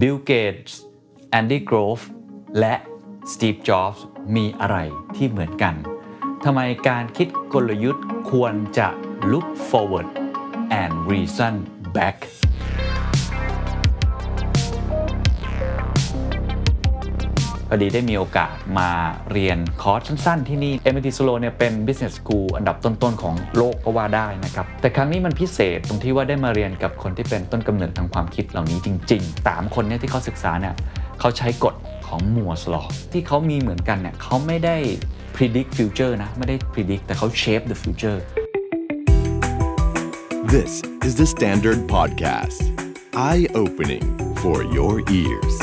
Bill Gates Andy Grove และ Steve Jobs มีอะไรที่เหมือนกันทำไมการคิดกลยุทธ์ควรจะ look forward and reason backพอดีได้มีโอกาสมาเรียนคอร์สสั้นๆที่นี่ MIT Sloan เนี่ยเป็น Business School อันดับต้นๆของโลกก็ว่าได้นะครับแต่ครั้งนี้มันพิเศษตรงที่ว่าได้มาเรียนกับคนที่เป็นต้นกำเนิดทางความคิดเหล่านี้จริงๆ3คนเนี่ยที่เขาศึกษาเนี่ยเขาใช้กฎของ Moore's Law ที่เขามีเหมือนกันเนี่ยเขาไม่ได้ predict future นะไม่ได้ predict แต่เขา shape the future This is the Standard Podcast Eye-opening for your ears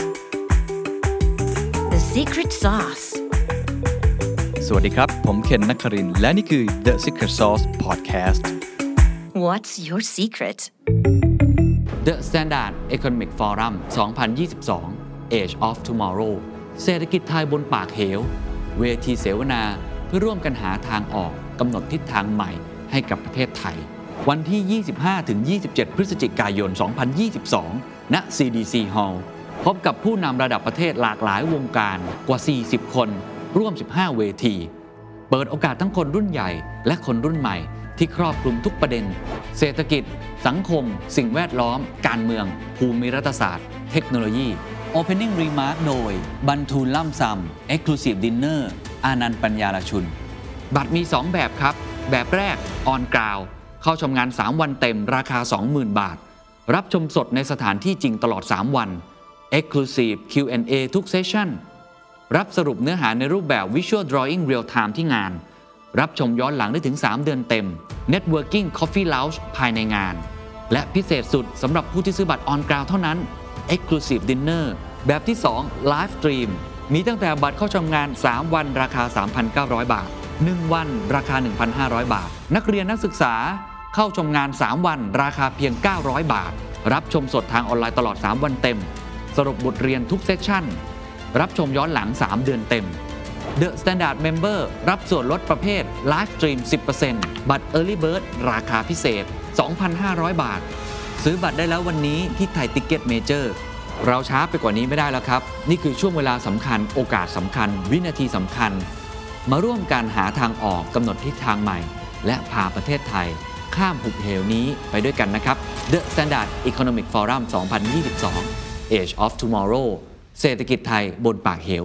The Secret Sauce สวัสดีครับผมเคนนักครินทร์และนี่คือ The Secret Sauce Podcast What's your secret? The Standard Economic Forum 2022 Age of Tomorrow เศรษฐกิจไทยบนปากเหวเวทีเสวนาเพื่อร่วมกันหาทางออกกำหนดทิศทางใหม่ให้กับประเทศไทยวันที่ 25-27 พฤศจิกายน 2022 ณ CDC Hall พบกับผู้นำระดับประเทศหลากหลายวงการกว่า 40 คนร่วม 15 เวทีเปิดโอกาสทั้งคนรุ่นใหญ่และคนรุ่นใหม่ที่ครอบคลุมทุกประเด็นเศรษฐกิจสังคมสิ่งแวดล้อมการเมืองภูมิรัฐศาสตร์เทคโนโลยี Opening Remark โดยบรรทูลล่ำซำ Exclusive Dinner อานันต์ปัญญาลชุนบัตรมี 2 แบบครับแบบแรก On Ground เข้าชมงาน 3 วันเต็มราคา 20,000 บาทรับชมสดในสถานที่จริงตลอด 3 วัน Exclusive Q&A ทุกเซสชั่นรับสรุปเนื้อหาในรูปแบบ Visual Drawing Real Time ที่งานรับชมย้อนหลังได้ถึง 3 เดือนเต็ม Networking Coffee Lounge ภายในงานและพิเศษสุดสำหรับผู้ที่ซื้อบัตร On Ground เท่านั้น Exclusive Dinner แบบที่ 2 Live Stream มีตั้งแต่บัตรเข้าชมงาน 3 วันราคา 3,900 บาท 1 วันราคา 1,500 บาทนักเรียนนักศึกษาเข้าชมงาน 3 วันราคาเพียง 900 บาทรับชมสดทางออนไลน์ตลอด 3 วันเต็มสรุปบทเรียนทุกเซสชั่นรับชมย้อนหลัง 3 เดือนเต็ม The Standard Member รับส่วนลดประเภท Live Stream 10% บัตร Early Bird ราคาพิเศษ 2,500 บาทซื้อบัตรได้แล้ววันนี้ที่ไทยติ๊กเก็ตเมเจอร์เราช้าไปกว่านี้ไม่ได้แล้วครับนี่คือช่วงเวลาสำคัญโอกาสสำคัญวินาทีสำคัญมาร่วมกันหาทางออกกำหนดทิศทางใหม่และพาประเทศไทยข้ามหุบเหวนี้ไปด้วยกันนะครับ The Standard Economic Forum 2022 Age of Tomorrow เศรษฐกิจไทยบนปากเหว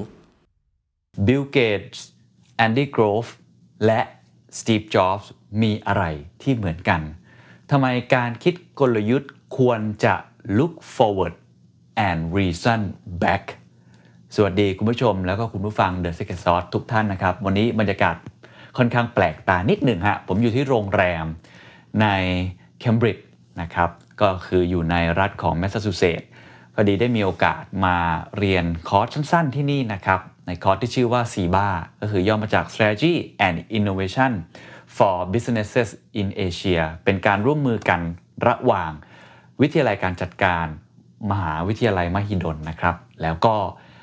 Bill Gates Andy Grove และ Steve Jobs มีอะไรที่เหมือนกันทำไมการคิดกลยุทธ์ควรจะ look forward and reason back สวัสดีคุณผู้ชมแล้วก็คุณผู้ฟัง The Secret Sauce ทุกท่านนะครับวันนี้บรรยากาศค่อนข้างแปลกตานิดหนึ่งฮะผมอยู่ที่โรงแรมในเคมบริดจ์นะครับก็คืออยู่ในรัฐของแมสซาชูเซตส์พอดีได้มีโอกาสมาเรียนคอร์สสั้นๆที่นี่นะครับในคอร์สที่ชื่อว่า SIBA ก็คือย่อมาจาก Strategy and Innovation for Businesses in Asia เป็นการร่วมมือกันระหว่างวิทยาลัยการจัดการมหาวิทยาลัยมหิดลนะครับแล้วก็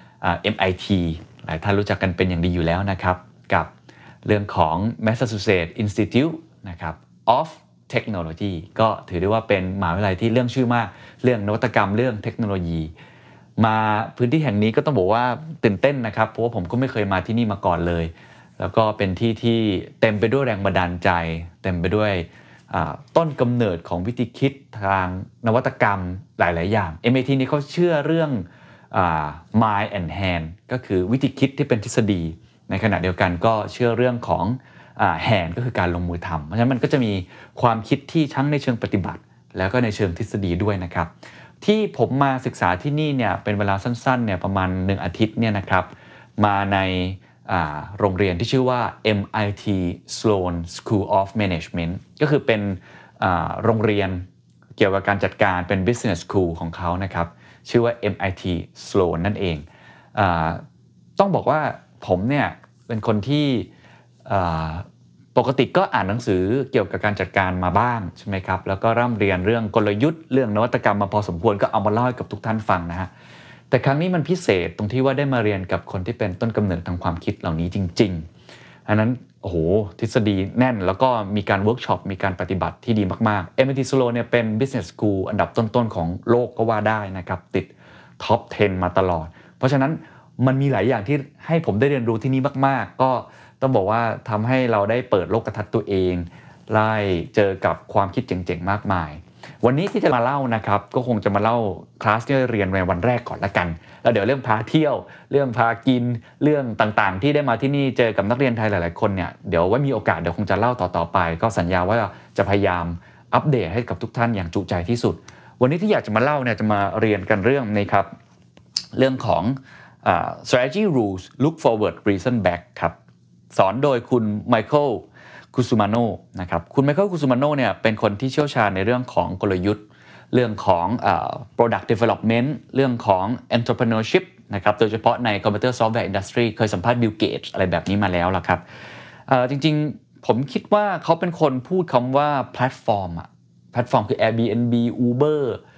MIT หลายท่านรู้จักกันเป็นอย่างดีอยู่แล้วนะครับกับเรื่องของ Massachusetts Institute นะครับ of Technology ก็ถือได้ว่าเป็นมหาวิทยาลัยที่เรื่องชื่อมากเรื่องนวัตกรรมเรื่องเทคโนโลยีมาพื้นที่แห่งนี้ก็ต้องบอกว่าตื่นเต้นนะครับเพราะว่าผมก็ไม่เคยมาที่นี่มาก่อนเลยแล้วก็เป็นที่ที่เต็มไปด้วยแรงบันดาลใจเต็มไปด้วยต้นกำเนิดของวิธีคิดทางนวัตกรรมหลายๆอย่าง MIT นี่เขาเชื่อเรื่องmind and hand ก็คือวิธีคิดที่เป็นทฤษฎีในขณะเดียวกันก็เชื่อเรื่องของhand ก็คือการลงมือทำเพราะฉะนั้นมันก็จะมีความคิดที่ทั้งในเชิงปฏิบัติแล้วก็ในเชิงทฤษฎีด้วยนะครับที่ผมมาศึกษาที่นี่เนี่ยเป็นเวลาสั้นๆเนี่ยประมาณ1อาทิตย์เนี่ยนะครับมาในโรงเรียนที่ชื่อว่า MIT Sloan School of Management ก็คือเป็นโรงเรียนเกี่ยวกับการจัดการเป็น Business School ของเขานะครับชื่อว่า MIT Sloan นั่นเองต้องบอกว่าผมเนี่ยเป็นคนที่ปกติก็อ่านหนังสือเกี่ยวกับการจัดการมาบ้างใช่ไหมครับแล้วก็ร่ำเรียนเรื่องกลยุทธ์เรื่องนวัตกรรมมาพอสมควรก็เอามาเล่าให้กับทุกท่านฟังนะฮะแต่ครั้งนี้มันพิเศษตรงที่ว่าได้มาเรียนกับคนที่เป็นต้นกำเนิดทางความคิดเหล่านี้จริงๆอันนั้นโอ้โหทฤษฎีแน่นแล้วก็มีการเวิร์กช็อปมีการปฏิบัติที่ดีมากๆ MIT Sloan เนี่ยเป็น Business School อันดับต้นๆของโลกก็ว่าได้นะครับติดท็อป 10 มาตลอดเพราะฉะนั้นมันมีหลายอย่างที่ให้ผมได้เรียนรู้ที่นี่มากๆก็ต้องบอกว่าทำให้เราได้เปิดโลกทัศน์ตัวเองไล่เจอกับความคิดเจ๋งๆมากมายวันนี้ที่จะมาเล่านะครับก็คงจะมาเล่าคลาสที่เรียนในวันแรกก่อนละกันแล้วเดี๋ยวเรื่องพาเที่ยวเรื่องพากินเรื่องต่างๆที่ได้มาที่นี่เจอกับนักเรียนไทยหลายๆคนเนี่ยเดี๋ยวไว้มีโอกาสเดี๋ยวคงจะเล่าต่อๆไปก็สัญญาว่าจะพยายามอัปเดตให้กับทุกท่านอย่างจุใจที่สุดวันนี้ที่อยากจะมาเล่าเนี่ยจะมาเรียนกันเรื่องนี้ครับเรื่องของstrategy rules look forward reason back ครับสอนโดยคุณไมเคิลคุซุมาโนนะครับคุณไมเคิลคุซุมาโนเนี่ยเป็นคนที่เชี่ยวชาญในเรื่องของกลยุทธ์เรื่องของ product development เรื่องของ entrepreneurship นะครับโดยเฉพาะใน computer software industry เคยสัมภาษณ์ Bill Gates อะไรแบบนี้มาแล้วล่ะครับจริงๆผมคิดว่าเขาเป็นคนพูดคำว่าแพลตฟอร์มคือ Airbnb Uber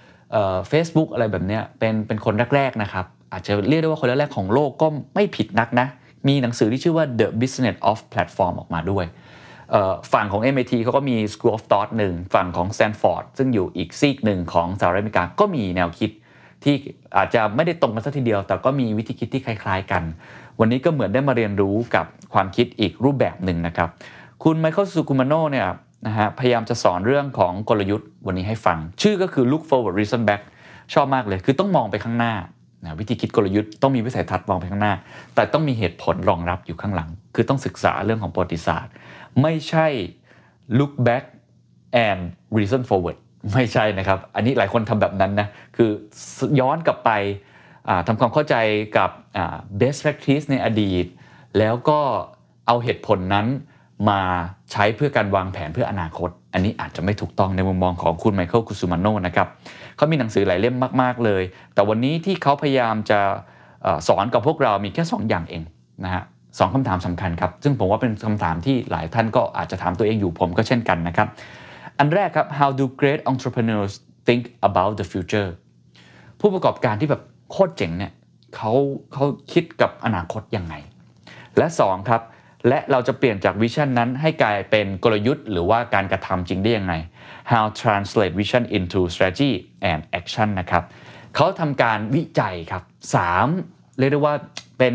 Facebook อะไรแบบเนี้ยเป็นคนแรกๆนะครับอาจจะเรียกได้ว่าคนแรกๆของโลกก็ไม่ผิดนักนะมีหนังสือที่ชื่อว่า The Business of Platform ออกมาด้วยฝั่งของ MIT เขาก็มี School of Thought หนึ่งฝั่งของ Stanford ซึ่งอยู่อีกซีกหนึ่งของสหรัฐอเมริกาก็มีแนวคิดที่อาจจะไม่ได้ตรงกันซะทีเดียวแต่ก็มีวิธีคิดที่คล้ายๆกันวันนี้ก็เหมือนได้มาเรียนรู้กับความคิดอีกรูปแบบหนึ่งนะครับคุณไมเคิล ซูกุมาโนเนี่ยนะฮะพยายามจะสอนเรื่องของกลยุทธ์วันนี้ให้ฟังชื่อก็คือ look forward reason back ชอบมากเลยคือต้องมองไปข้างหน้าวิธีคิดกลยุทธ์ต้องมีวิสัยทัศน์มองไปข้างหน้าแต่ต้องมีเหตุผลรองรับอยู่ข้างหลังคือต้องศึกษาเรื่องของประวัติศาสตร์ไม่ใช่ look back and reason forward ไม่ใช่นะครับอันนี้หลายคนทำแบบนั้นนะคือย้อนกลับไปทำความเข้าใจกับbest practice ในอดีตแล้วก็เอาเหตุผลนั้นมาใช้เพื่อการวางแผนเพื่ออนาคตอันนี้อาจจะไม่ถูกต้องในมุมมองของคุณไมเคิล คุซุมาโนนะครับเขามีหนังสือหลายเล่มมากๆเลยแต่วันนี้ที่เขาพยายามจะสอนกับพวกเรามีแค่2อย่างเองนะฮะ2คำถามสำคัญครับซึ่งผมว่าเป็นคำถามที่หลายท่านก็อาจจะถามตัวเองอยู่ผมก็เช่นกันนะครับอันแรกครับ how do great entrepreneurs think about the future ผู้ประกอบการที่แบบโคตรเจ๋งเนี่ยเขาคิดกับอนาคตยังไงและ2ครับและเราจะเปลี่ยนจากวิชั่นนั้นให้กลายเป็นกลยุทธ์หรือว่าการกระทำจริงได้ยังไง how translate vision into strategy and action นะครับเขาทำการวิจัยครับ3เรียกได้ว่าเป็น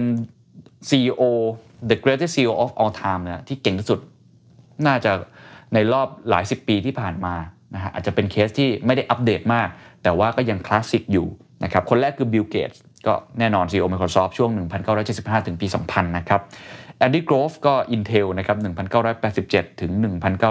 CEO the greatest CEO of all time นะที่เก่งที่สุดน่าจะในรอบหลาย10ปีที่ผ่านมานะฮะอาจจะเป็นเคสที่ไม่ได้อัปเดตมากแต่ว่าก็ยังคลาสสิกอยู่นะครับคนแรกคือ Bill Gates ก็แน่นอน CEO Microsoft ช่วง 1975 ถึงปี 2000 นะครับแอนดี้ โกรฟก็ Intel นะครับ 1987 ถึง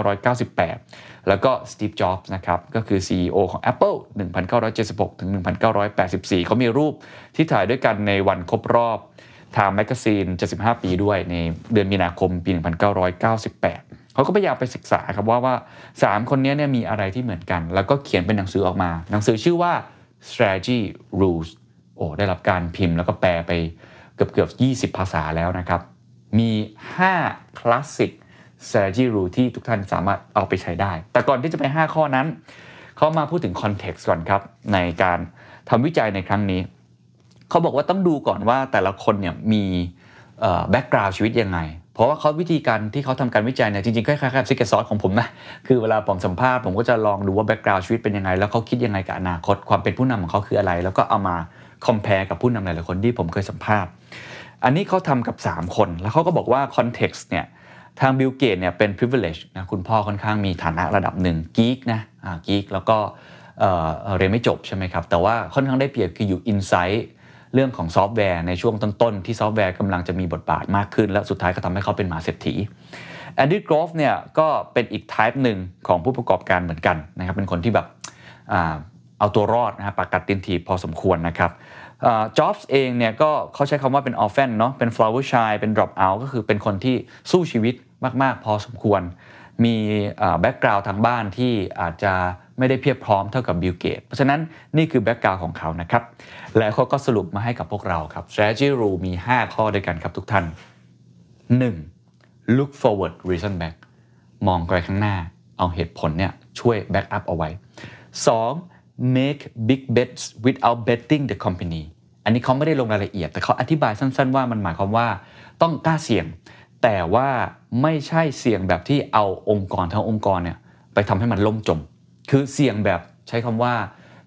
1998 แล้วก็ Steve Jobs นะครับก็คือ CEO ของ Apple 1976 ถึง 1984 เขามีรูปที่ถ่ายด้วยกันในวันครบรอบ Time Magazine 75 ปีด้วยในเดือนมีนาคมปี 1998 เขาก็พยายามไปศึกษาครับว่า3คนนี้เนี่ยมีอะไรที่เหมือนกันแล้วก็เขียนเป็นหนังสือออกมาหนังสือชื่อว่า Strategy Rules ได้รับการพิมพ์แล้วก็แปลไปเกือบ20 ภาษาแล้วนะครับมี5 Classic Strategy Rule ที่ทุกท่านสามารถเอาไปใช้ได้แต่ก่อนที่จะไป5ข้อนั้นเขามาพูดถึง Context ก่อนครับในการทำวิจัยในครั้งนี้เขาบอกว่าต้องดูก่อนว่าแต่ละคนเนี่ยมีbackground ชีวิตยังไงเพราะว่าเขาวิธีการที่เขาทำการวิจัยเนี่ยจริงๆคล้ายๆกับ Secret Sauce ของผมนะคือเวลาผมสัมภาษณ์ผมก็จะลองดูว่า background ชีวิตเป็นยังไงแล้วเขาคิดยังไงกับอนาคตความเป็นผู้นำของเขาคืออะไรแล้วก็เอามา compare กับผู้นำหลายๆคนที่ผมเคยสัมภาษณ์อันนี้เขาทำกับ3คนแล้วเขาก็บอกว่า context เนี่ยทาง Bill Gates เนี่ยเป็น privilege นะคุณพ่อค่อนข้างมีฐานะระดับหนึ่ง geek นะgeek แล้วก็เรียนไม่จบใช่ไหมครับแต่ว่าค่อนข้างได้เปรียบคืออยู่ insight เรื่องของซอฟต์แวร์ในช่วงต้นๆที่ซอฟต์แวร์กำลังจะมีบทบาทมากขึ้นและสุดท้ายก็ทำให้เขาเป็นมหาเศรษฐีแอนดี้ โกรฟเนี่ยก็เป็นอีก type หนึ่งของผู้ประกอบการเหมือนกันนะครับเป็นคนที่แบบเอาตัวรอดนะฮะปากกัดตีนถีบพอสมควรนะครับจ็อบส์เองเนี่ยก็เขาใช้คำว่าเป็น orphan เนาะเป็น flower child เป็น drop out ก็คือเป็นคนที่สู้ชีวิตมากๆพอสมควรมีแบ็คกราวด์ทางบ้านที่อาจจะไม่ได้เพียบพร้อมเท่ากับบิล เกตส์เพราะฉะนั้นนี่คือแบ็คกราวด์ของเขานะครับแล้วเขาก็สรุปมาให้กับพวกเราครับ strategy rule มี5ข้อด้วยกันครับทุกท่าน 1. look forward reason back มองไปข้างหน้าเอาเหตุผลเนี่ยช่วย back up เอาไว้ 2. make big bets without betting the company อันนี้เขาไม่ได้ลงรายละเอียดแต่เขาอธิบายสั้นๆว่ามันหมายความว่าต้องกล้าเสี่ยงแต่ว่าไม่ใช่เสี่ยงแบบที่เอาองค์กรทั้งองค์กรเนี่ยไปทำให้มันล่มจมคือเสี่ยงแบบใช้คำว่า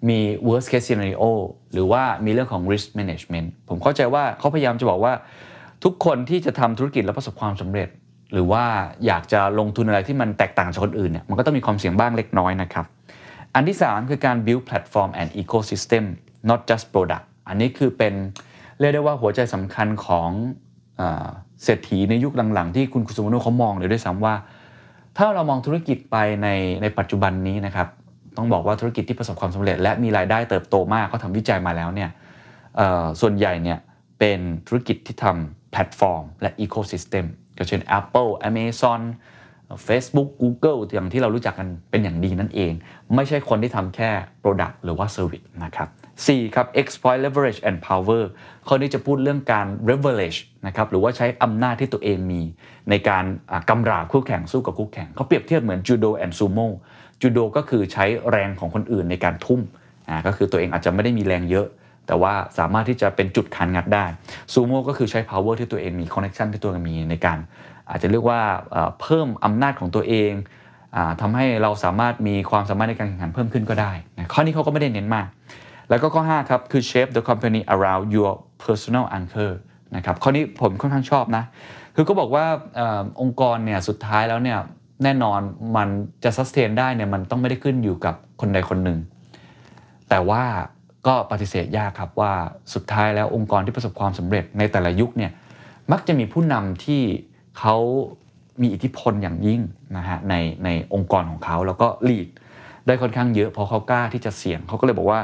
มี worst case scenario หรือว่ามีเรื่องของ risk management ผมเข้าใจว่าเขาพยายามจะบอกว่าทุกคนที่จะทำธุรกิจแล้วประสบความสำเร็จหรือว่าอยากจะลงทุนอะไรที่มันแตกต่างจากคนอื่นเนี่ยมันก็ต้องมีความเสี่ยงบ้างเล็กน้อยนะครับอันที่3คือการ build platform and ecosystem not just product อันนี้คือเป็นเรียกได้ว่าหัวใจสำคัญของเศรษฐีในยุคหลังๆที่คุณคุซุโมโนะเขามองเลยด้วยซ้ำว่าถ้าเรามองธุรกิจไปในปัจจุบันนี้นะครับต้องบอกว่าธุรกิจที่ประสบความสำเร็จและมีรายได้เติบโตมากเขาทำวิจัยมาแล้วเนี่ยส่วนใหญ่เนี่ยเป็นธุรกิจที่ทำแพลตฟอร์มและ ecosystem ก็เช่น Apple Amazon Facebook Google อย่างที่เรารู้จักกันเป็นอย่างดีนั่นเองไม่ใช่คนที่ทำแค่ Product หรือว่า Service นะครับ 4 ครับ exploit leverage and power ข้อนี้จะพูดเรื่องการ leverage นะครับหรือว่าใช้อำนาจที่ตัวเองมีในการกำราบคู่แข่งสู้กับคู่แข่งเขาเปรียบเทียบเหมือน Judo and Sumo Judo ก็คือใช้แรงของคนอื่นในการทุ่มก็คือตัวเองอาจจะไม่ได้มีแรงเยอะแต่ว่าสามารถที่จะเป็นจุดขานงัดได้ Sumo ก็คือใช้ power ที่ตัวเองมี connection ที่ตัวเองมีในการอาจจะเรียกว่าเพิ่มอำนาจของตัวเองทำให้เราสามารถมีความสามารถในการแข่งขันเพิ่มขึ้นก็ได้นะข้อนี้เขาก็ไม่ได้เน้นมากแล้วก็ข้อ5ครับคือ shape the company around your personal anchor นะครับข้อนี้ผมค่อนข้างชอบนะคือก็บอกว่าองค์กรเนี่ยสุดท้ายแล้วเนี่ยแน่นอนมันจะ sustain ได้เนี่ยมันต้องไม่ได้ขึ้นอยู่กับคนใดคนหนึ่งแต่ว่าก็ปฏิเสธยากครับว่าสุดท้ายแล้วองค์กรที่ประสบความสำเร็จในแต่ละยุคเนี่ยมักจะมีผู้นำที่เขามีอิทธิพลอย่างยิ่งนะฮะในองค์กรของเขาแล้วก็ลีดได้ค่อนข้างเยอะเพราะเขากล้าที่จะเสี่ยงเขาก็เลยบอกว่า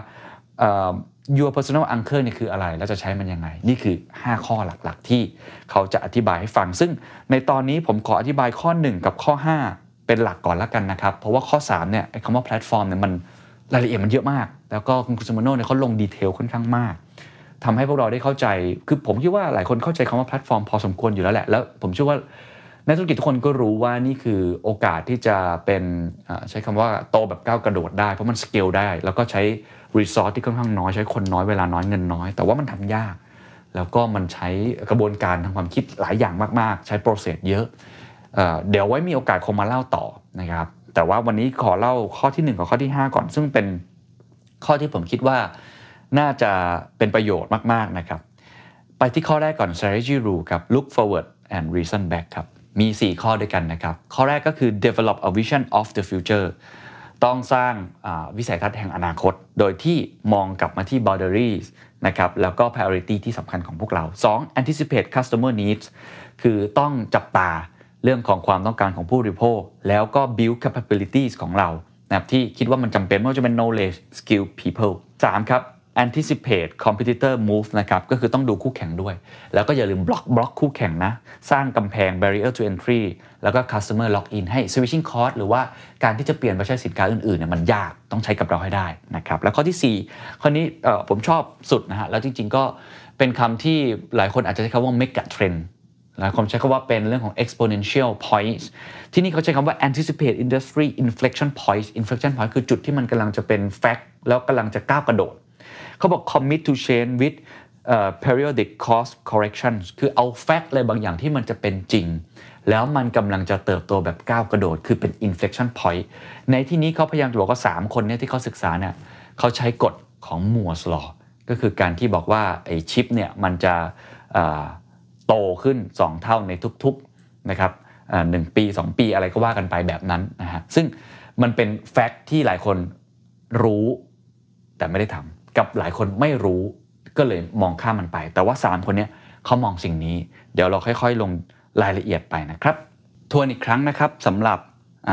your personal anchor เนี่ยคืออะไรแล้วจะใช้มันยังไงนี่คือ5ข้อหลักๆที่เขาจะอธิบายให้ฟังซึ่งในตอนนี้ผมขออธิบายข้อ1กับข้อ5เป็นหลักก่อนละกันนะครับเพราะว่าข้อ3เนี่ยไอ้คำว่าแพลตฟอร์มเนี่ยมันรายละเอียดมันเยอะมากแล้วก็คุณคุซุโมโนะเนี่ยเขาลงดีเทลค่อนข้างมากทำให้พวกเราได้เข้าใจคือผมคิดว่าหลายคนเข้าใจคำว่าแพลตฟอร์มพอสมควรอยู่แล้วแหละแล้วผมเชื่อว่านักธุรกิจทุกคนก็รู้ว่านี่คือโอกาสที่จะเป็นใช้คำว่าโตแบบก้าวกระโดดได้เพราะมันสเกลได้แล้วก็ใช้รีซอสที่ค่อนข้างน้อยใช้คนน้อยเวลาน้อยเงินน้อยแต่ว่ามันทำยากแล้วก็มันใช้กระบวนการทางความคิดหลายอย่างมากๆใช้โปรเซสเยอะเดี๋ยวไว้มีโอกาสคงมาเล่าต่อนะครับแต่ว่าวันนี้ขอเล่าข้อที่1กับข้อที่5ก่อนซึ่งเป็นข้อที่ผมคิดว่าน่าจะเป็นประโยชน์มากๆนะครับไปที่ข้อแรกก่อน strategy rule ครับ look forward and reason back ครับมี4ข้อด้วยกันนะครับข้อแรกก็คือ develop a vision of the future ต้องสร้างวิสัยทัศน์แห่งอนาคตโดยที่มองกลับมาที่ boundaries นะครับแล้วก็ priority ที่สำคัญของพวกเรา 2. anticipate customer needs คือต้องจับตาเรื่องของความต้องการของผู้บริโภคแล้วก็ build capabilities ของเรานะครับที่คิดว่ามันจำเป็นไม่ว่าจะเป็น knowledge skill people 3 ครับ anticipate competitor move นะครับก็คือต้องดูคู่แข่งด้วยแล้วก็อย่าลืมบล็อกคู่แข่งนะสร้างกำแพง barrier to entry แล้วก็ customer lock in ให้ switching cost หรือว่าการที่จะเปลี่ยนไปใช้สินค้าอื่นๆเนี่ยมันยากต้องใช้กับเราให้ได้นะครับแล้วข้อที่4ข้อนี้ผมชอบสุดนะฮะแล้วจริงๆก็เป็นคำที่หลายคนอาจจะใช้คำว่า mega trend หลายคนใช้คำว่าเป็นเรื่องของ exponential points ที่นี่เขาใช้คำว่า anticipate industry inflection points inflection point คือจุดที่มันกำลังจะเป็น fact แล้วกำลังจะก้าวกระโดดเขาบอก commit to change with periodic course corrections คือเอา fact อะไรบางอย่างที่มันจะเป็นจริงแล้วมันกำลังจะเติบโตแบบก้าวกระโดดคือเป็น inflection point ในที่นี้เขาพยายามจะบอกว่า3คนเนี่ยที่เขาศึกษาเนี่ยเขาใช้กฎของ Moore's law ก็คือการที่บอกว่าไอ้ชิปเนี่ยมันจะโตขึ้น2เท่าในทุกๆนะครับ1ปี2ปีอะไรก็ว่ากันไปแบบนั้นนะฮะซึ่งมันเป็นแฟกต์ที่หลายคนรู้แต่ไม่ได้ทำกับหลายคนไม่รู้ก็เลยมองข้ามมันไปแต่ว่า3คนนี้เขามองสิ่งนี้เดี๋ยวเราค่อยๆลงรายละเอียดไปนะครับทวนอีกครั้งนะครับสำหรับ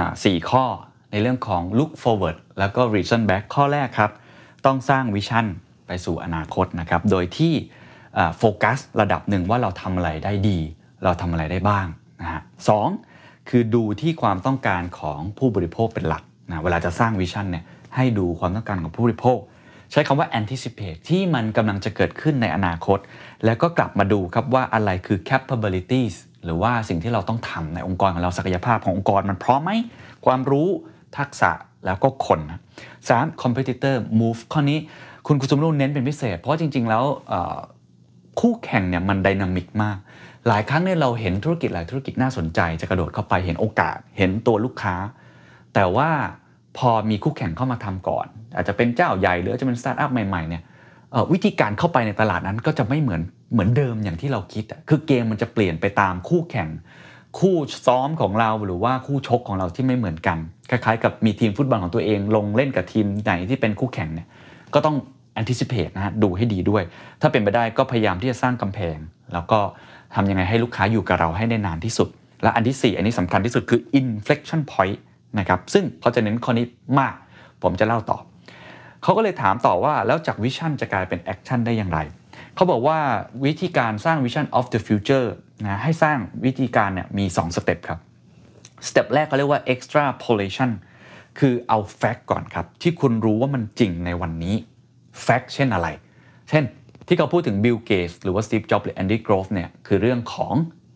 4ข้อในเรื่องของ look forward แล้วก็ reason back ข้อแรกครับต้องสร้างวิชั่นไปสู่อนาคตนะครับโดยที่โฟกัสระดับหนึ่งว่าเราทำอะไรได้ดีเราทำอะไรได้บ้างนะฮะ2คือดูที่ความต้องการของผู้บริโภคเป็นหลักนะเวลาจะสร้างวิชั่นเนี่ยให้ดูความต้องการของผู้บริโภคใช้คำว่า anticipate ที่มันกำลังจะเกิดขึ้นในอนาคตแล้วก็กลับมาดูครับว่าอะไรคือ capabilities หรือว่าสิ่งที่เราต้องทำในองค์กรของเราศักยภาพขององค์กรมันพร้อมไหมความรู้ทักษะแล้วก็คนนะ3 competitor move ข้อนี้คุณคุซุโมโนะเน้นเป็นพิเศษเพราะจริงๆแล้วคู่แข่งเนี่ยมันไดนามิกมากหลายครั้งเนี่ยเราเห็นธุรกิจหลายธุรกิจน่าสนใจจะกระโดดเข้าไปเห็นโอกาสเห็นตัวลูกค้าแต่ว่าพอมีคู่แข่งเข้ามาทำก่อนอาจจะเป็นเจ้าใหญ่หรือจะเป็นสตาร์ทอัพใหม่ๆเนี่ยวิธีการเข้าไปในตลาดนั้นก็จะไม่เหมือนเดิมอย่างที่เราคิดคือเกมมันจะเปลี่ยนไปตามคู่แข่งคู่ซ้อมของเราหรือว่าคู่ชกของเราที่ไม่เหมือนกันคล้ายๆกับมีทีมฟุตบอลของตัวเองลงเล่นกับทีมไหนที่เป็นคู่แข่งเนี่ยก็ต้อง anticipate นะฮะดูให้ดีด้วยถ้าเป็นไปได้ก็พยายามที่จะสร้างกำแพงแล้วก็ทำยังไงให้ลูกค้าอยู่กับเราให้ได้นานที่สุดและอันที่4อันนี้สำคัญที่สุดคือ inflection point นะครับซึ่งเขาจะเน้นข้อนี้มากผมจะเล่าต่อเขาก็เลยถามต่อว่าแล้วจากวิชั่นจะกลายเป็นแอคชั่นได้อย่างไรเขาบอกว่าวิธีการสร้าง Vision of the Future นะให้สร้างวิธีการเนี่ยมี2สเต็ปครับสเต็ปแรกเขาเรียกว่า extrapolation คือเอา fact ก่อนครับที่คุณรู้ว่ามันจริงในวันนี้ fact เช่นอะไรเช่นที่เขาพูดถึง Bill Gates หรือว่า Steve Jobs หรือ Andy Grove เนี่ยคือเรื่องของ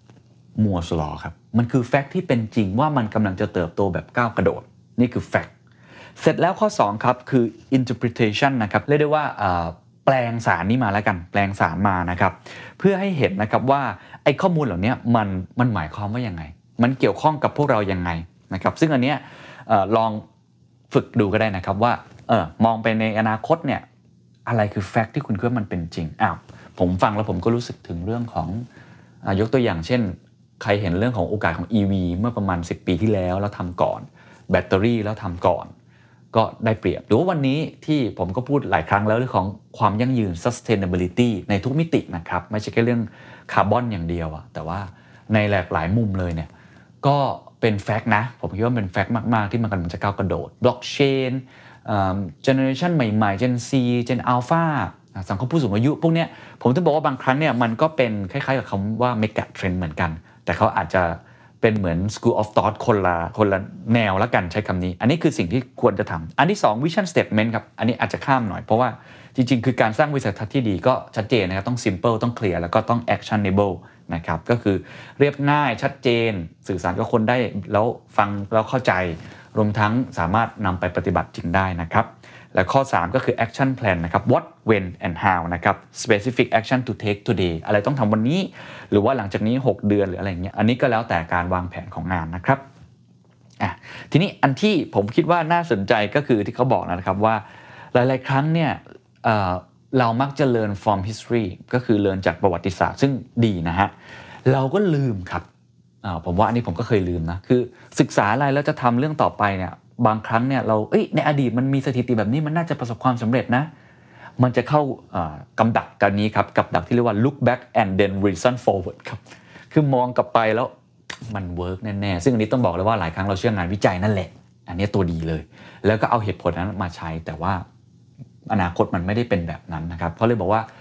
Moore's Law ครับมันคือ fact ที่เป็นจริงว่ามันกำลังจะเติบโตแบบก้าวกระโดดนี่คือ fact เสร็จแล้วข้อ2ครับคือ interpretation นะครับเรียกได้ว่าแปลงสารนี้มาแล้วกันแปลงสารมานะครับเพื่อให้เห็นนะครับว่าไอ้ข้อมูลเหล่านี้มันหมายความว่ายังไงมันเกี่ยวข้องกับพวกเรายังไงนะครับซึ่งอันเนี้ยลองฝึกดูก็ได้นะครับว่ามองไปในอนาคตเนี่ยอะไรคือแฟกต์ที่คุณคิดว่ามันเป็นจริงผมฟังแล้วผมก็รู้สึกถึงเรื่องของยกตัวอย่างเช่นใครเห็นเรื่องของโอกาสของ EV เมื่อประมาณ10ปีที่แล้วทำก่อนแบตเตอรี่แล้วทำก่อนก็ได้เปรียบหรือว่าวันนี้ที่ผมก็พูดหลายครั้งแล้วเรื่องของความยั่งยืน sustainability ในทุกมิตินะครับไม่ใช่แค่เรื่องคาร์บอนอย่างเดียวแต่ว่าในหลากหลายมุมเลยเนี่ยก็เป็นแฟกต์นะผมคิดว่าเป็นแฟกต์มากๆที่มันกำลังจะก้าวกระโดดบล็อกเชนเจเนอเรชันใหม่ๆ Gen C Gen Alpha สังคมผู้สูงอายุพวกเนี้ยผมถึงบอกว่าบางครั้งเนี่ยมันก็เป็นคล้ายๆกับคำว่า mega trend เหมือนกันแต่เขาอาจจะเป็นเหมือน school of thought คนละแนวละกันใช้คำนี้อันนี้คือสิ่งที่ควรจะทำอันที่2 vision statement ครับอันนี้อาจจะข้ามหน่อยเพราะว่าจริงๆคือการสร้างวิสัยทัศน์ที่ดีก็ชัดเจนนะครับต้อง simple ต้อง clear แล้วก็ต้อง actionable นะครับก็คือเรียบง่ายชัดเจนสื่อสารกับคนได้แล้วฟังแล้วเข้าใจรวมทั้งสามารถนำไปปฏิบัติจริงได้นะครับและข้อ3ก็คือ action plan นะครับ what when and how นะครับ specific action to take today อะไรต้องทำวันนี้หรือว่าหลังจากนี้6เดือนหรืออะไรอย่างเงี้ยอันนี้ก็แล้วแต่การวางแผนของงานนะครับทีนี้อันที่ผมคิดว่าน่าสนใจก็คือที่เขาบอกนะครับว่าหลายๆครั้งเนี่ยเรามักจะ learn from history ก็คือ learn จากประวัติศาสตร์ซึ่งดีนะฮะเราก็ลืมครับผมว่าอันนี้ผมก็เคยลืมนะคือศึกษาอะไรแล้วจะทำเรื่องต่อไปเนี่ยบางครั้งเนี่ยเราในอดีตมันมีสถิติแบบนี้มันน่าจะประสบความสำเร็จนะมันจะเข้ากำดักกันนี้ครับกับดักที่เรียกว่า look back and then reason forward ครับคือมองกลับไปแล้วมันเวิร์กแน่ๆซึ่งอันนี้ต้องบอกเลยว่าหลายครั้งเราเชื่องานวิจัยนั่นแหละอันนี้ตัวดีเลยแล้วก็เอาเหตุผลนั้นมาใช้แต่ว่าอนาคตมันไม่ได้เป็นแบบนั้นนะครับเพราะเลยบอกว่า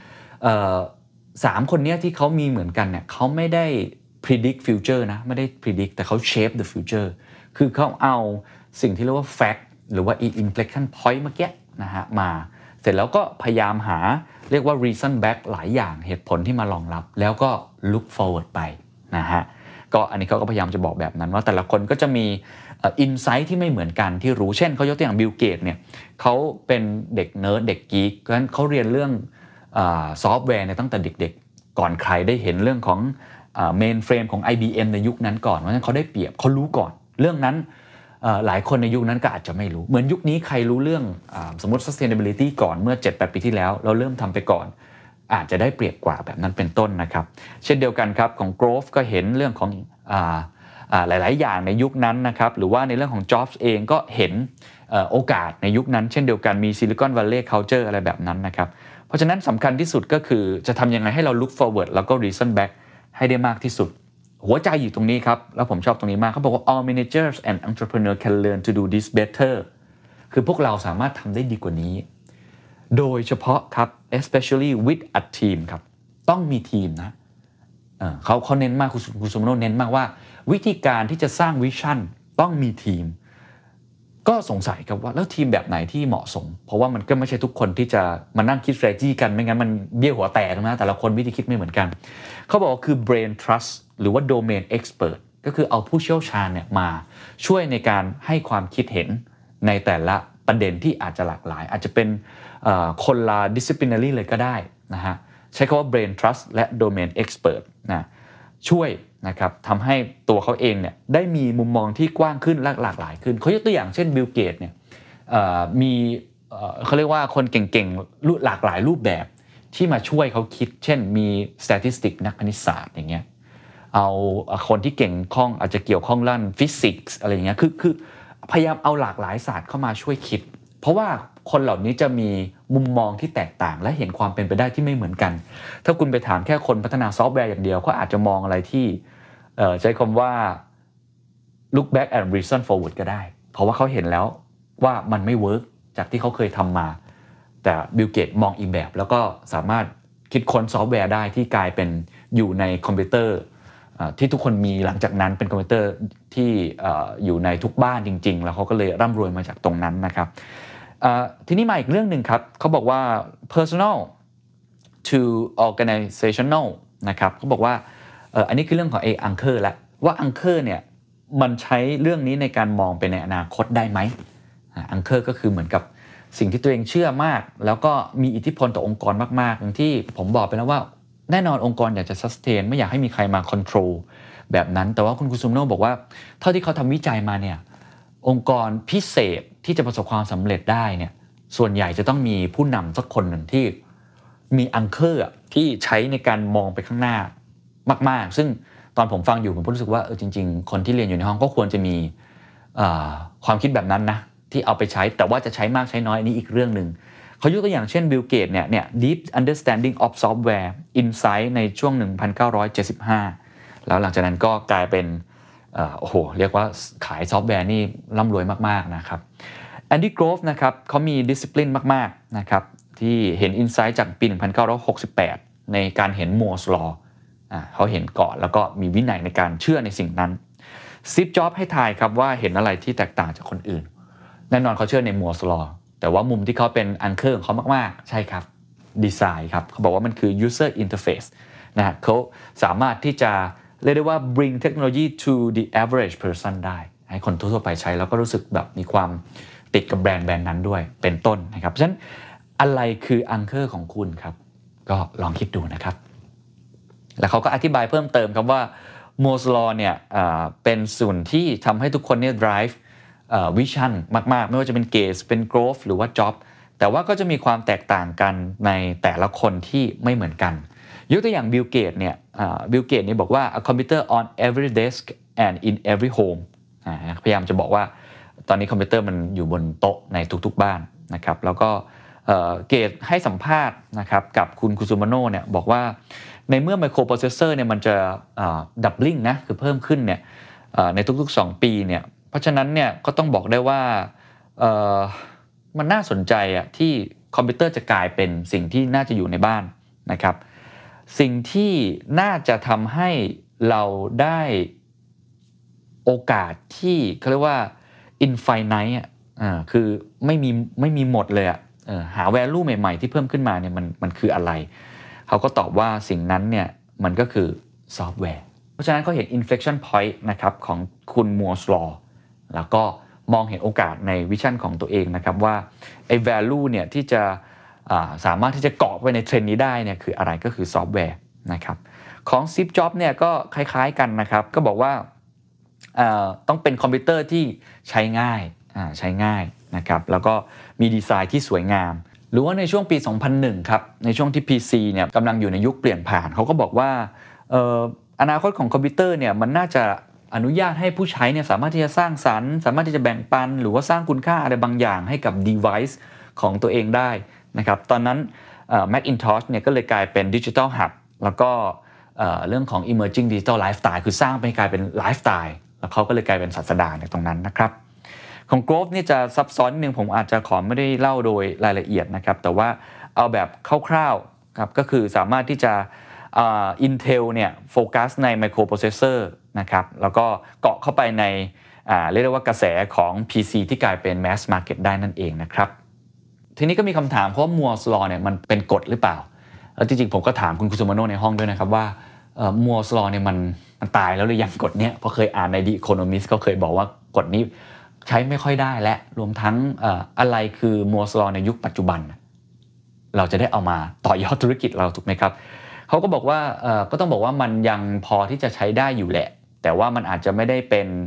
3คนนี้ที่เขามีเหมือนกันเนี่ยเขาไม่ได้ predict future นะไม่ได้ predict แต่เขา shape the future คือเขาเอาสิ่งที่เรียกว่า fact หรือว่า inflection point เมื่อกี้นะฮะมาเสร็จแล้วก็พยายามหาเรียกว่า reason back หลายอย่างเหตุผลที่มารองรับแล้วก็ look forward ไปนะฮะก็อันนี้เขาก็พยายามจะบอกแบบนั้นว่าแต่ละคนก็จะมีinsight ที่ไม่เหมือนกันที่รู้เช่นเขายกตัวอย่าง Bill Gates เนี่ยเขาเป็นเด็กเนิร์ดเด็กกี๊กเพราะฉะนั้นเขาเรียนเรื่องซอฟต์แวร์ในตั้งแต่เด็กๆก่อนใครได้เห็นเรื่องของเมนเฟรมของ IBM ในยุคนั้นก่อนเพราะฉะนั้นเขาได้เปรียบเขารู้ก่อนเรื่องนั้นหลายคนในยุคนั้นก็อาจจะไม่รู้เหมือนยุคนี้ใครรู้เรื่องสมมติ sustainability ก่อนเมื่อ 7-8 ปีที่แล้วเราเริ่มทำไปก่อนอาจจะได้เปรียบกว่าแบบนั้นเป็นต้นนะครับเช่นเดียวกันครับของ Grove ก็เห็นเรื่องของหลายๆอย่างในยุคนั้นนะครับหรือว่าในเรื่องของ Jobs เองก็เห็นโอกาสในยุคนั้นเช่นเดียวกันมี Silicon Valley Culture อะไรแบบนั้นนะครับเพราะฉะนั้นสำคัญที่สุดก็คือจะทำยังไงให้เรา look forward แล้วก็ reason back ให้ได้มากที่สุดหัวใจอยู่ตรงนี้ครับแล้วผมชอบตรงนี้มากเขาบอกว่า all managers and entrepreneurs can learn to do this better คือพวกเราสามารถทำได้ดีกว่านี้โดยเฉพาะครับ especially with a team ครับต้องมีทีมนะเขาเน้นมากคุณสุมโนเน้นมากว่าวิธีการที่จะสร้างวิชั่นต้องมีทีมก็สงสัยครับว่าแล้วทีมแบบไหนที่เหมาะสมเพราะว่ามันก็ไม่ใช่ทุกคนที่จะมานั่งคิด strategy กันไม่งั้นมันเบี้ยวหัวแตกนะแต่ละคนวิธีคิดไม่เหมือนกันเขาบอกว่าคือ brain trust หรือว่า domain expert ก็คือเอาผู้เชี่ยวชาญเนี่ยมาช่วยในการให้ความคิดเห็นในแต่ละประเด็นที่อาจจะหลากหลายอาจจะเป็นคนละ disciplinary เลยก็ได้นะฮะใช้คำว่า brain trust และ domain expert นะช่วยนะครับทำให้ตัวเขาเองเนี่ยได้มีมุมมองที่กว้างขึ้นและหลากหลายขึ้นเขายกตัวอย่างเช่นบิลเกตเนี่ยมีเขาเรียกว่าคนเก่งๆหลากหลายรูปแบบที่มาช่วยเขาคิดเช่นมี statistics นักคณิตศาสตร์อย่างเงี้ยเอาคนที่เก่งข้องอาจจะเกี่ยวข้องด้านฟิสิกส์อะไรอย่างเงี้ยคือพยายามเอาหลากหลายศาสตร์เข้ามาช่วยคิดเพราะว่าคนเหล่านี้จะมีมุมมองที่แตกต่างและเห็นความเป็นไปได้ที่ไม่เหมือนกันถ้าคุณไปถามแค่คนพัฒนาซอฟต์แวร์อย่างเดียวก็อาจจะมองอะไรที่ใช้คำว่า look back and reason forward ก็ได้เพราะว่าเขาเห็นแล้วว่ามันไม่เวิร์กจากที่เขาเคยทำมาแต่บิลเกตมองอีกแบบแล้วก็สามารถคิดค้นซอฟต์แวร์ได้ที่กลายเป็นอยู่ในคอมพิวเตอร์ที่ทุกคนมีหลังจากนั้นเป็นคอมพิวเตอร์ที่อยู่ในทุกบ้านจริงๆแล้วเขาก็เลยร่ำรวยมาจากตรงนั้นนะครับทีนี้มาอีกเรื่องหนึ่งครับเขาบอกว่า personal to organizational นะครับเขาบอกว่าอันนี้คือเรื่องของanchor แล้วว่า anchor เนี่ยมันใช้เรื่องนี้ในการมองไปในอนาคตได้ไหมanchor ก็คือเหมือนกับสิ่งที่ตัวเองเชื่อมากแล้วก็มีอิทธิพลต่อองค์กรมากๆอย่างที่ผมบอกไปแล้วว่าแน่นอนองค์กรอยากจะ sustain ไม่อยากให้มีใครมา control แบบนั้นแต่ว่าคุณคุซุมโนะบอกว่าเท่าที่เขาทำวิจัยมาเนี่ยองค์กรพิเศษที่จะประสบความสำเร็จได้เนี่ยส่วนใหญ่จะต้องมีผู้นำสักคนหนึ่งที่มี anchor ที่ใช้ในการมองไปข้างหน้ามากๆซึ่งตอนผมฟังอยู่ผมรู้สึกว่าจริงๆคนที่เรียนอยู่ในห้องก็ควรจะมีความคิดแบบนั้นนะที่เอาไปใช้แต่ว่าจะใช้มากใช้น้อยอันนี้อีกเรื่องนึงเขายกตัวอย่างเช่นบิลเกตเนี่ย Deep Understanding of Software Insight ในช่วง 1975 แล้วหลังจากนั้นก็กลายเป็นโอ้โหเรียกว่าขายซอฟต์แวร์นี่ร่ำรวยมากๆนะครับแอนดี้โกรฟนะครับเขามี discipline มากๆนะครับที่เห็น Insight จากปี 1968 ในการเห็น Moore's Law เขาเห็นก่อนแล้วก็มีวินัยในการเชื่อในสิ่งนั้นสตีฟ จ็อบส์ให้ทายครับว่าเห็นอะไรที่แตกต่างจากคนอื่นแน่นอนเขาเชื่อใน Moore's Law แต่ว่ามุมที่เขาเป็นอังเคอร์ของเขามากๆใช่ครับดีไซน์ครับเขาบอกว่ามันคือ user interface นะฮะเขาสามารถที่จะเรียกได้ว่า bring technology to the average person ได้ให้คนทั่วไปใช้แล้วก็รู้สึกแบบมีความติดกับแบรนด์นั้นด้วยเป็นต้นนะครับเพราะฉะนั้นอะไรคืออังเคอร์ของคุณครับก็ลองคิดดูนะครับแล้วเขาก็อธิบายเพิ่มเติมครับว่า Moore's Law เนี่ยเป็นส่วนที่ทำให้ทุกคนเนี่ย drive vision มากๆไม่ว่าจะเป็น Gates เป็น Grove หรือว่า Job แต่ว่าก็จะมีความแตกต่างกันในแต่ละคนที่ไม่เหมือนกันยกตัวอย่าง Bill Gates เนี่ยBill Gates เนี่ยบอกว่า a computer on every desk and in every home พยายามจะบอกว่าตอนนี้คอมพิวเตอร์มันอยู่บนโต๊ะในทุกๆบ้านนะครับแล้วก็เกตให้สัมภาษณ์นะครับกับคุณคุซุมาโนะเนี่ยบอกว่าในเมื่อ microprocessor เนี่ยมันจะdoubling นะคือเพิ่มขึ้นเนี่ยในทุกๆ2ปีเนี่ยเพราะฉะนั้นเนี่ยก็ต้องบอกได้ว่ามันน่าสนใจอ่ะที่คอมพิวเตอร์จะกลายเป็นสิ่งที่น่าจะอยู่ในบ้านนะครับสิ่งที่น่าจะทำให้เราได้โอกาสที่เขาเรียกว่า infinite คือไม่มีหมดเลยอ่ะหา value ใหม่ๆที่เพิ่มขึ้นมาเนี่ยมันคืออะไรเขาก็ตอบว่าสิ่งนั้นเนี่ยมันก็คือซอฟต์แวร์เพราะฉะนั้นเขาเห็น inflection point นะครับของคุณ Moore's Law แล้วก็มองเห็นโอกาสในวิชั่นของตัวเองนะครับว่าไอ้ value เนี่ยที่จะสามารถที่จะเกาะไปในเทรนด์นี้ได้เนี่ยคืออะไรก็คือซอฟต์แวร์นะครับของ Steve Jobs เนี่ยก็คล้ายๆกันนะครับก็บอกว่าต้องเป็นคอมพิวเตอร์ที่ใช้ง่ายนะครับแล้วก็มีดีไซน์ที่สวยงามหรือว่าในช่วงปี 2001 ครับในช่วงที่ PC เนี่ยกำลังอยู่ในยุคเปลี่ยนผ่านเขาก็บอกว่าอนาคตของคอมพิวเตอร์เนี่ยมันน่าจะอนุญาตให้ผู้ใช้เนี่ยสามารถที่จะสร้างสรรค์สามารถที่จะแบ่งปันหรือว่าสร้างคุณค่าอะไรบางอย่างให้กับ device ของตัวเองได้นะครับตอนนั้นMacintosh เนี่ยก็เลยกลายเป็น Digital Hub แล้วก็เรื่องของ Emerging Digital Lifestyle คือสร้างไปกลายเป็นไลฟ์สไตล์แล้วเขาก็เลยกลายเป็นศาสดาในตรงนั้นนะครับของ Grove นี่จะซับซ้อนนิดนึงผมอาจจะขอไม่ได้เล่าโดยรายละเอียดนะครับแต่ว่าเอาแบบคร่าวๆครับก็คือสามารถที่จะIntel เนี่ยโฟกัสใน microprocessor นะครับแล้วก็เกาะเข้าไปในเรียกได้ว่ากระแสของ PC ที่กลายเป็น mass market ได้นั่นเองนะครับทีนี้ก็มีคำถามเพราะว่า Moore's Law เนี่ยมันเป็นกฎหรือเปล่าแล้วจริงๆผมก็ถามคุณคุซุมาโนะในห้องด้วยนะครับว่าMoore's Law เนี่ยมันตายแล้วหรือยังกฎเนี้ยเพราะเคยอ่านใน The Economist ก็เคยบอกว่ากฎนี้ใช้ไม่ค่อยได้และรวมทั้งอะไรคือ Moore's Law ในยุคปัจจุบันเราจะได้เอามาต่อยอดธุรกิจเราถูกไหมครับเขาก็บอกว่าก็ต้องบอกว่ามันยังพอที่จะใช้ได้อยู่แหละแต่ว่ามันอาจจะไม่ได้เป็น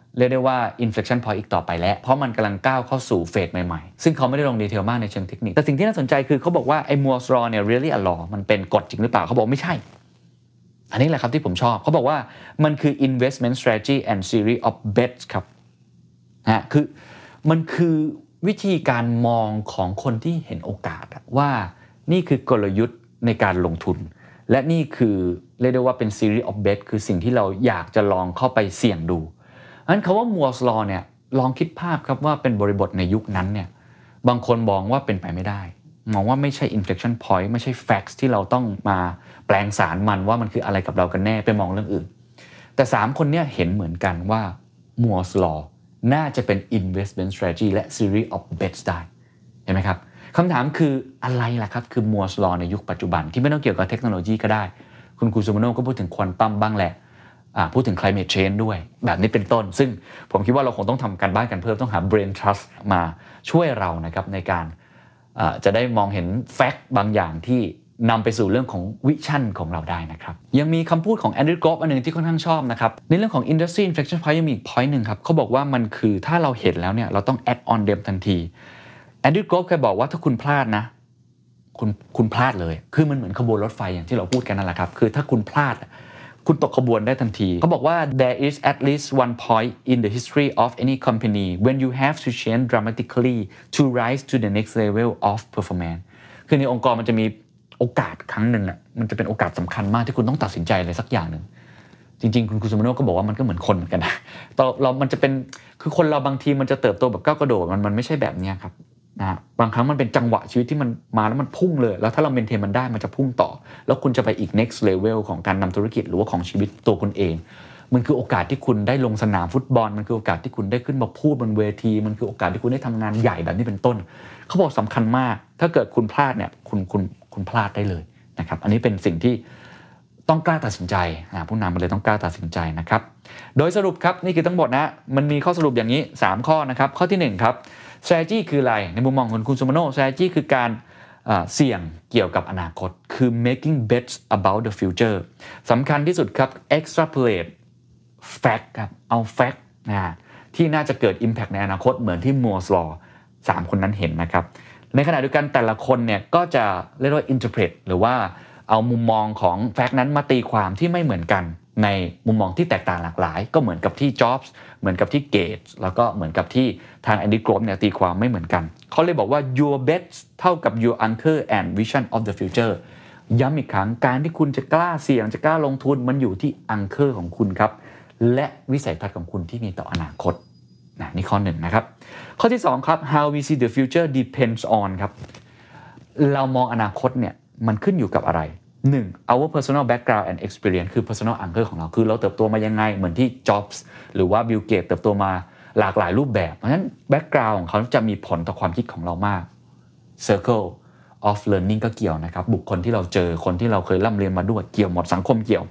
เรียกได้ว่า inflection point อีกต่อไปแล้วเพราะมันกำลังก้าวเข้าสู่เฟสใหม่ๆซึ่งเขาไม่ได้ลงดีเทลมากในเชิงเทคนิคแต่สิ่งที่น่าสนใจคือเขาบอกว่าไอ้ Moore's Law เนี่ย really a law มันเป็นกฎจริงหรือเปล่าเขาบอกไม่ใช่อันนี้แหละครับที่ผมชอบเขาบอกว่ามันคือ investment strategy and series of bets ครับคือมันคือวิธีการมองของคนที่เห็นโอกาสว่านี่คือกลยุทธ์ในการลงทุนและนี่คือเรียกได้ว่าเป็น series of bet คือสิ่งที่เราอยากจะลองเข้าไปเสี่ยงดูงั้นคำว่า Moore's Law เนี่ยลองคิดภาพครับว่าเป็นบริบทในยุคนั้นเนี่ยบางคนมองว่าเป็นไปไม่ได้มองว่าไม่ใช่ inflection point ไม่ใช่ facts ที่เราต้องมาแปลงสารมันว่ามันคืออะไรกับเรากันแน่ไปมองเรื่องอื่นแต่3คนเนี่ยเห็นเหมือนกันว่า Moore's Law น่าจะเป็น investment strategy และ series of bets ได้เห็นไหมครับคำถามคืออะไรล่ะครับคือ Moore's Law ในยุคปัจจุบันที่ไม่ต้องเกี่ยวกับเทคโนโลยีก็ได้คุณครูซูมาโน่ก็พูดถึงควอนตัมบ้างแหละพูดถึง climate change ด้วยแบบนี้เป็นต้นซึ่งผมคิดว่าเราคงต้องทำการบ้านกันเพิ่มต้องหา brain trust มาช่วยเรานะครับในการจะได้มองเห็นแฟกต์บางอย่างที่นำไปสู่เรื่องของวิชั่นของเราได้นะครับยังมีคำพูดของแอนดรูว์ กรอฟอันนึงที่ค่อนข้างชอบนะครับในเรื่องของ industry inflection point ยังมีอีก point นึงครับเขาบอกว่ามันคือถ้าเราเห็นแล้วเนี่ยเราต้อง act on them ทันทีแอนดรูว์ กรอฟเคยบอกว่าถ้าคุณพลาดนะคุณพลาดเลยคือมันเหมือนขบวนรถไฟอย่างที่เราพูดกันนั่นแหละครับคือถ้าคุณพลาดคุณตกขบวนได้ทันทีเขาบอกว่า there is at least one point in the history of any company when you have to change dramatically to rise to the next level of performance คือในองค์กรมันจะมีโอกาสครั้งหนึ่งมันจะเป็นโอกาสสำคัญมากที่คุณต้องตัดสินใจอะไรสักอย่างหนึ่งจริงๆคุณซูมาโน่ก็บอกว่ามันก็เหมือนคนเหมือนกันนะมันจะเป็นคือคนเราบางทีมันจะเติบโตแบบก้าวกระโดดมันไม่ใช่แบบนี้ครับนะบางครั้งมันเป็นจังหวะชีวิตที่มันมาแล้วมันพุ่งเลยแล้วถ้าเราเมนเทนมันได้มันจะพุ่งต่อแล้วคุณจะไปอีก next level ของการนำธุรกิจหรือว่าของชีวิตตัวคุณเองมันคือโอกาสที่คุณได้ลงสนามฟุตบอลมันคือโอกาสที่คุณได้ขึ้นมาพูดบนเวทีมันคือโอกาสที่คุณได้ทำงานใหญ่แบบนี้เป็นต้นเขาบอกสำคัญมากถ้าเกิดคุณพลาดเนี่ยคุณพลาดได้เลยนะครับอันนี้เป็นสิ่งที่ต้องกล้าตัดสินใจผู้นำมันเลยต้องกล้าตัดสินใจนะครับโดยสรุปครับนี่คือทั้งหมดนะมันมีข้อสรุปอย่างนี้3ข้อนะครับข้อที่1ครับstrategy คืออะไรในมุมมองของคุณซูมาโน่ strategy คือการเสี่ยงเกี่ยวกับอนาคตคือ making bets about the future สำคัญที่สุดครับ extrapolate fact ครับเอา fact ที่น่าจะเกิด impact ในอนาคตเหมือนที่ Moore's Law 3 คนนั้นเห็นนะครับในขณะเดียวกันแต่ละคนเนี่ยก็จะเรียกว่า interpret หรือว่าเอามุมมองของ fact นั้นมาตีความที่ไม่เหมือนกันในมุมมองที่แตกต่างหลากหลายก็เหมือนกับที่ Jobs เหมือนกับที่ Gates แล้วก็เหมือนกับที่ทาง Andy Grove เนี่ยตีความไม่เหมือนกันเขาเลยบอกว่า your bets เท่ากับ your anchor and vision of the future ย้ำอีกครั้งการที่คุณจะกล้าเสี่ยงจะกล้าลงทุนมันอยู่ที่ anchor ของคุณครับและวิสัยทัศน์ของคุณที่มีต่ออนาคตนี่ข้อ1นะครับข้อที่2ครับ how we see the future depends on ครับเรามองอนาคตเนี่ยมันขึ้นอยู่กับอะไร1 our personal background and experience คือ personal anchor ของเราคือเราเติบโตมายังไงเหมือนที่ Jobs หรือว่า Bill Gates เติบโตมาหลากหลายรูปแบบเพราะฉะนั้น background ของเขาจะมีผลต่อความคิดของเรามาก circle of learning ก็เกี่ยวนะครับบุคคลที่เราเจอคนที่เราเคยร่ำเรียนมาด้วยเกี่ยวหมดสังคมเกี่ยว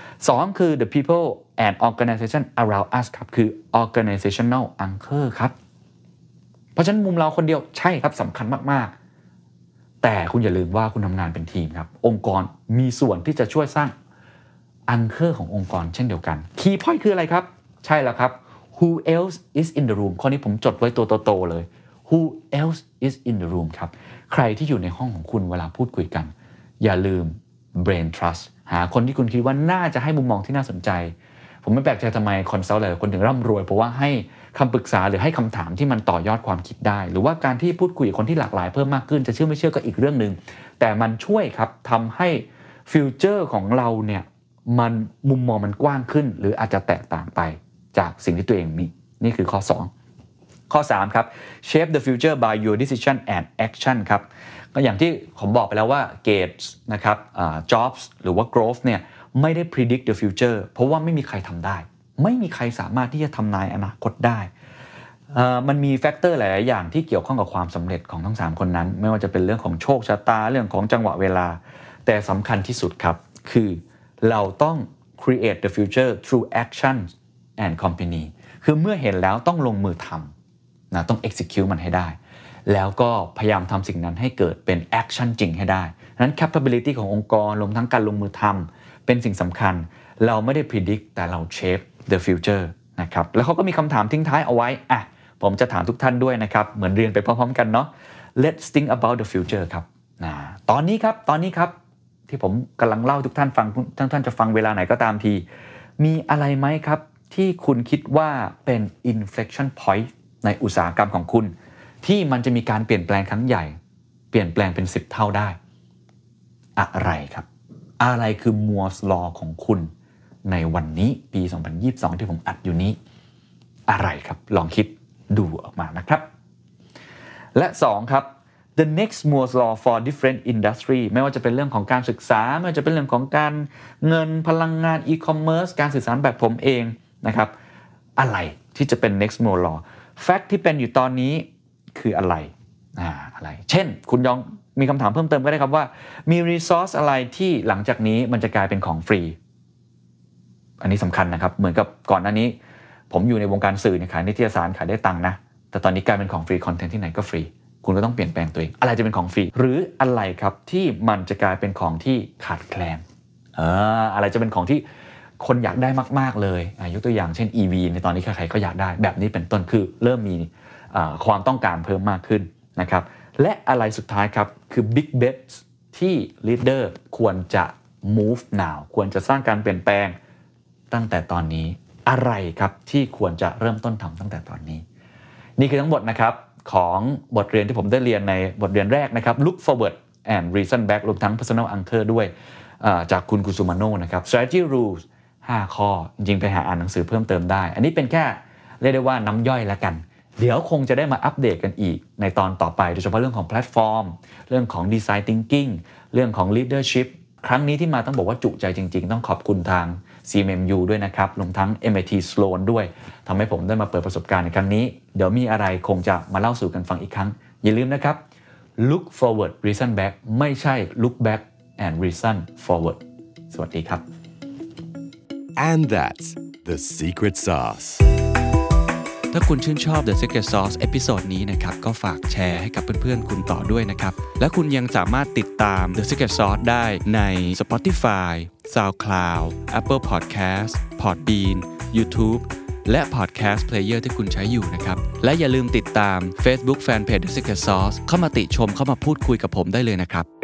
2คือ the people and organization around us ครับคือ organizational anchor ครับเพราะฉะนั้นมุมเราคนเดียวใช่ครับสำคัญมากๆแต่คุณอย่าลืมว่าคุณทำงานเป็นทีมครับองค์กรมีส่วนที่จะช่วยสร้าง anchor ขององค์กรเช่นเดียวกัน key point คืออะไรครับใช่แล้วครับ who else is in the room ข้อนี้ผมจดไว้ตัวโตๆเลย who else is in the room ครับใครที่อยู่ในห้องของคุณเวลาพูดคุยกันอย่าลืม brain trust หาคนที่คุณคิดว่าน่าจะให้มุมมองที่น่าสนใจผมไม่แปลกใจทำไมคอนซัลท์หลายคนถึงร่ำรวยเพราะว่าให้คำปรึกษาหรือให้คำถามที่มันต่อยอดความคิดได้หรือว่าการที่พูดคุยกับคนที่หลากหลายเพิ่มมากขึ้นจะเชื่อไม่เชื่อก็อีกเรื่องนึงแต่มันช่วยครับทำให้ฟิวเจอร์ของเราเนี่ยมันมุมมองมันกว้างขึ้นหรืออาจจะแตกต่างไปจากสิ่งที่ตัวเองมีนี่คือข้อ2ข้อ3ครับ shape the future by your decision and action ครับก็อย่างที่ผมบอกไปแล้วว่า Gates นะครับJobs หรือว่า Grove เนี่ยไม่ได้ predict the future เพราะว่าไม่มีใครทำได้ไม่มีใครสามารถที่จะทำนายอนาคตได้มันมีแฟกเตอร์หลายๆอย่างที่เกี่ยวข้องกับความสำเร็จของทั้ง3คนนั้นไม่ว่าจะเป็นเรื่องของโชคชะตาเรื่องของจังหวะเวลาแต่สำคัญที่สุดครับคือเราต้อง create the future through action and company คือเมื่อเห็นแล้วต้องลงมือทำนะต้อง execute มันให้ได้แล้วก็พยายามทำสิ่งนั้นให้เกิดเป็น action จริงให้ได้นั้น capability ขององค์กรรวมทั้งการลงมือทำเป็นสิ่งสำคัญเราไม่ได้ predict แต่เรา shape the future นะครับแล้วเขาก็มีคำถามทิ้งท้ายเอาไว้ผมจะถามทุกท่านด้วยนะครับเหมือนเรียนไปพร้อมๆกันเนาะ Let's think about the future ครับตอนนี้ครับที่ผมกำลังเล่าทุกท่านฟังทุกท่านจะฟังเวลาไหนก็ตามทีมีอะไรไหมครับที่คุณคิดว่าเป็น inflection point ในอุตสาหกรรมของคุณที่มันจะมีการเปลี่ยนแปลงครั้งใหญ่เปลี่ยนแปลงเป็น10เท่าได้อะไรครับอะไรคือ Moore's Law ของคุณในวันนี้ปี2022ที่ผมอัดอยู่นี้อะไรครับลองคิดดูออกมานะครับและ2ครับ the next Moore's Law for different industry ไม่ว่าจะเป็นเรื่องของการศึกษาไม่ว่าจะเป็นเรื่องของการเงินพลังงาน e-commerce การสื่อสารแบบผมเองนะครับอะไรที่จะเป็น next Moore's Law fact ที่เป็นอยู่ตอนนี้คืออะไรเช่นคุณยองมีคำถามเพิ่มเติมก็ได้ครับว่ามี resource อะไรที่หลังจากนี้มันจะกลายเป็นของฟรีอันนี้สำคัญนะครับเหมือนกับก่อนหน้านี้ผมอยู่ในวงการสื่อขายนิตยสารขายได้ตังค์นะแต่ตอนนี้กลายเป็นของฟรีคอนเทนต์ที่ไหนก็ฟรีคุณก็ต้องเปลี่ยนแปลงตัวเองอะไรจะเป็นของฟรีหรืออะไรครับที่มันจะกลายเป็นของที่ขาดแคลนอะไรจะเป็นของที่คนอยากได้มากๆเลยยกตัวอย่างเช่น EV ในตอนนี้ใครๆก็อยากได้แบบนี้เป็นต้นคือเริ่มมีความต้องการเพิ่มมากขึ้นนะครับและอะไรสุดท้ายครับคือ big bets ที่ leader ควรจะ move now ควรจะสร้างการเปลี่ยนแปลงตั้งแต่ตอนนี้อะไรครับที่ควรจะเริ่มต้นทำตั้งแต่ตอนนี้นี่คือทั้งหมดนะครับของบทเรียนที่ผมได้เรียนในบทเรียนแรกนะครับ Look Forward and Reason Back รวมทั้ง Personal Anchor ด้วยจากคุณกุซุมาโนะนะครับ Strategy Rules 5 ข้อจริงๆไปหาอ่านหนังสือเพิ่มเติมได้อันนี้เป็นแค่เรียกได้ว่าน้ำย่อยแล้วกันเดี๋ยวคงจะได้มาอัปเดตกันอีกในตอนต่อไปโดยเฉพาะเรื่องของแพลตฟอร์มเรื่องของ Design Thinking เรื่องของ Leadership ครั้งนี้ที่มาต้องบอกว่าจุใจจริงๆต้องขอบคุณทาง CMMU ด้วยนะครับรวมทั้ง MIT Sloan ด้วยทำให้ผมได้มาเปิดประสบการณ์ในครั้งนี้เดี๋ยวมีอะไรคงจะมาเล่าสู่กันฟังอีกครั้งอย่าลืมนะครับ Look forward reason back ไม่ใช่ Look back and reason forward สวัสดีครับ And that's the secret sauce ถ้าคุณชื่นชอบ The Secret Sauce เอพิโซดนี้นะครับก็ฝากแชร์ให้กับเพื่อนๆคุณต่อด้วยนะครับและคุณยังสามารถติดตาม The Secret Sauce ได้ใน Spotify, SoundCloud, Apple Podcast, Podbean, YouTube และ Podcast Player ที่คุณใช้อยู่นะครับและอย่าลืมติดตาม Facebook Fanpage The Secret Sauce เข้ามาติชมเข้ามาพูดคุยกับผมได้เลยนะครับ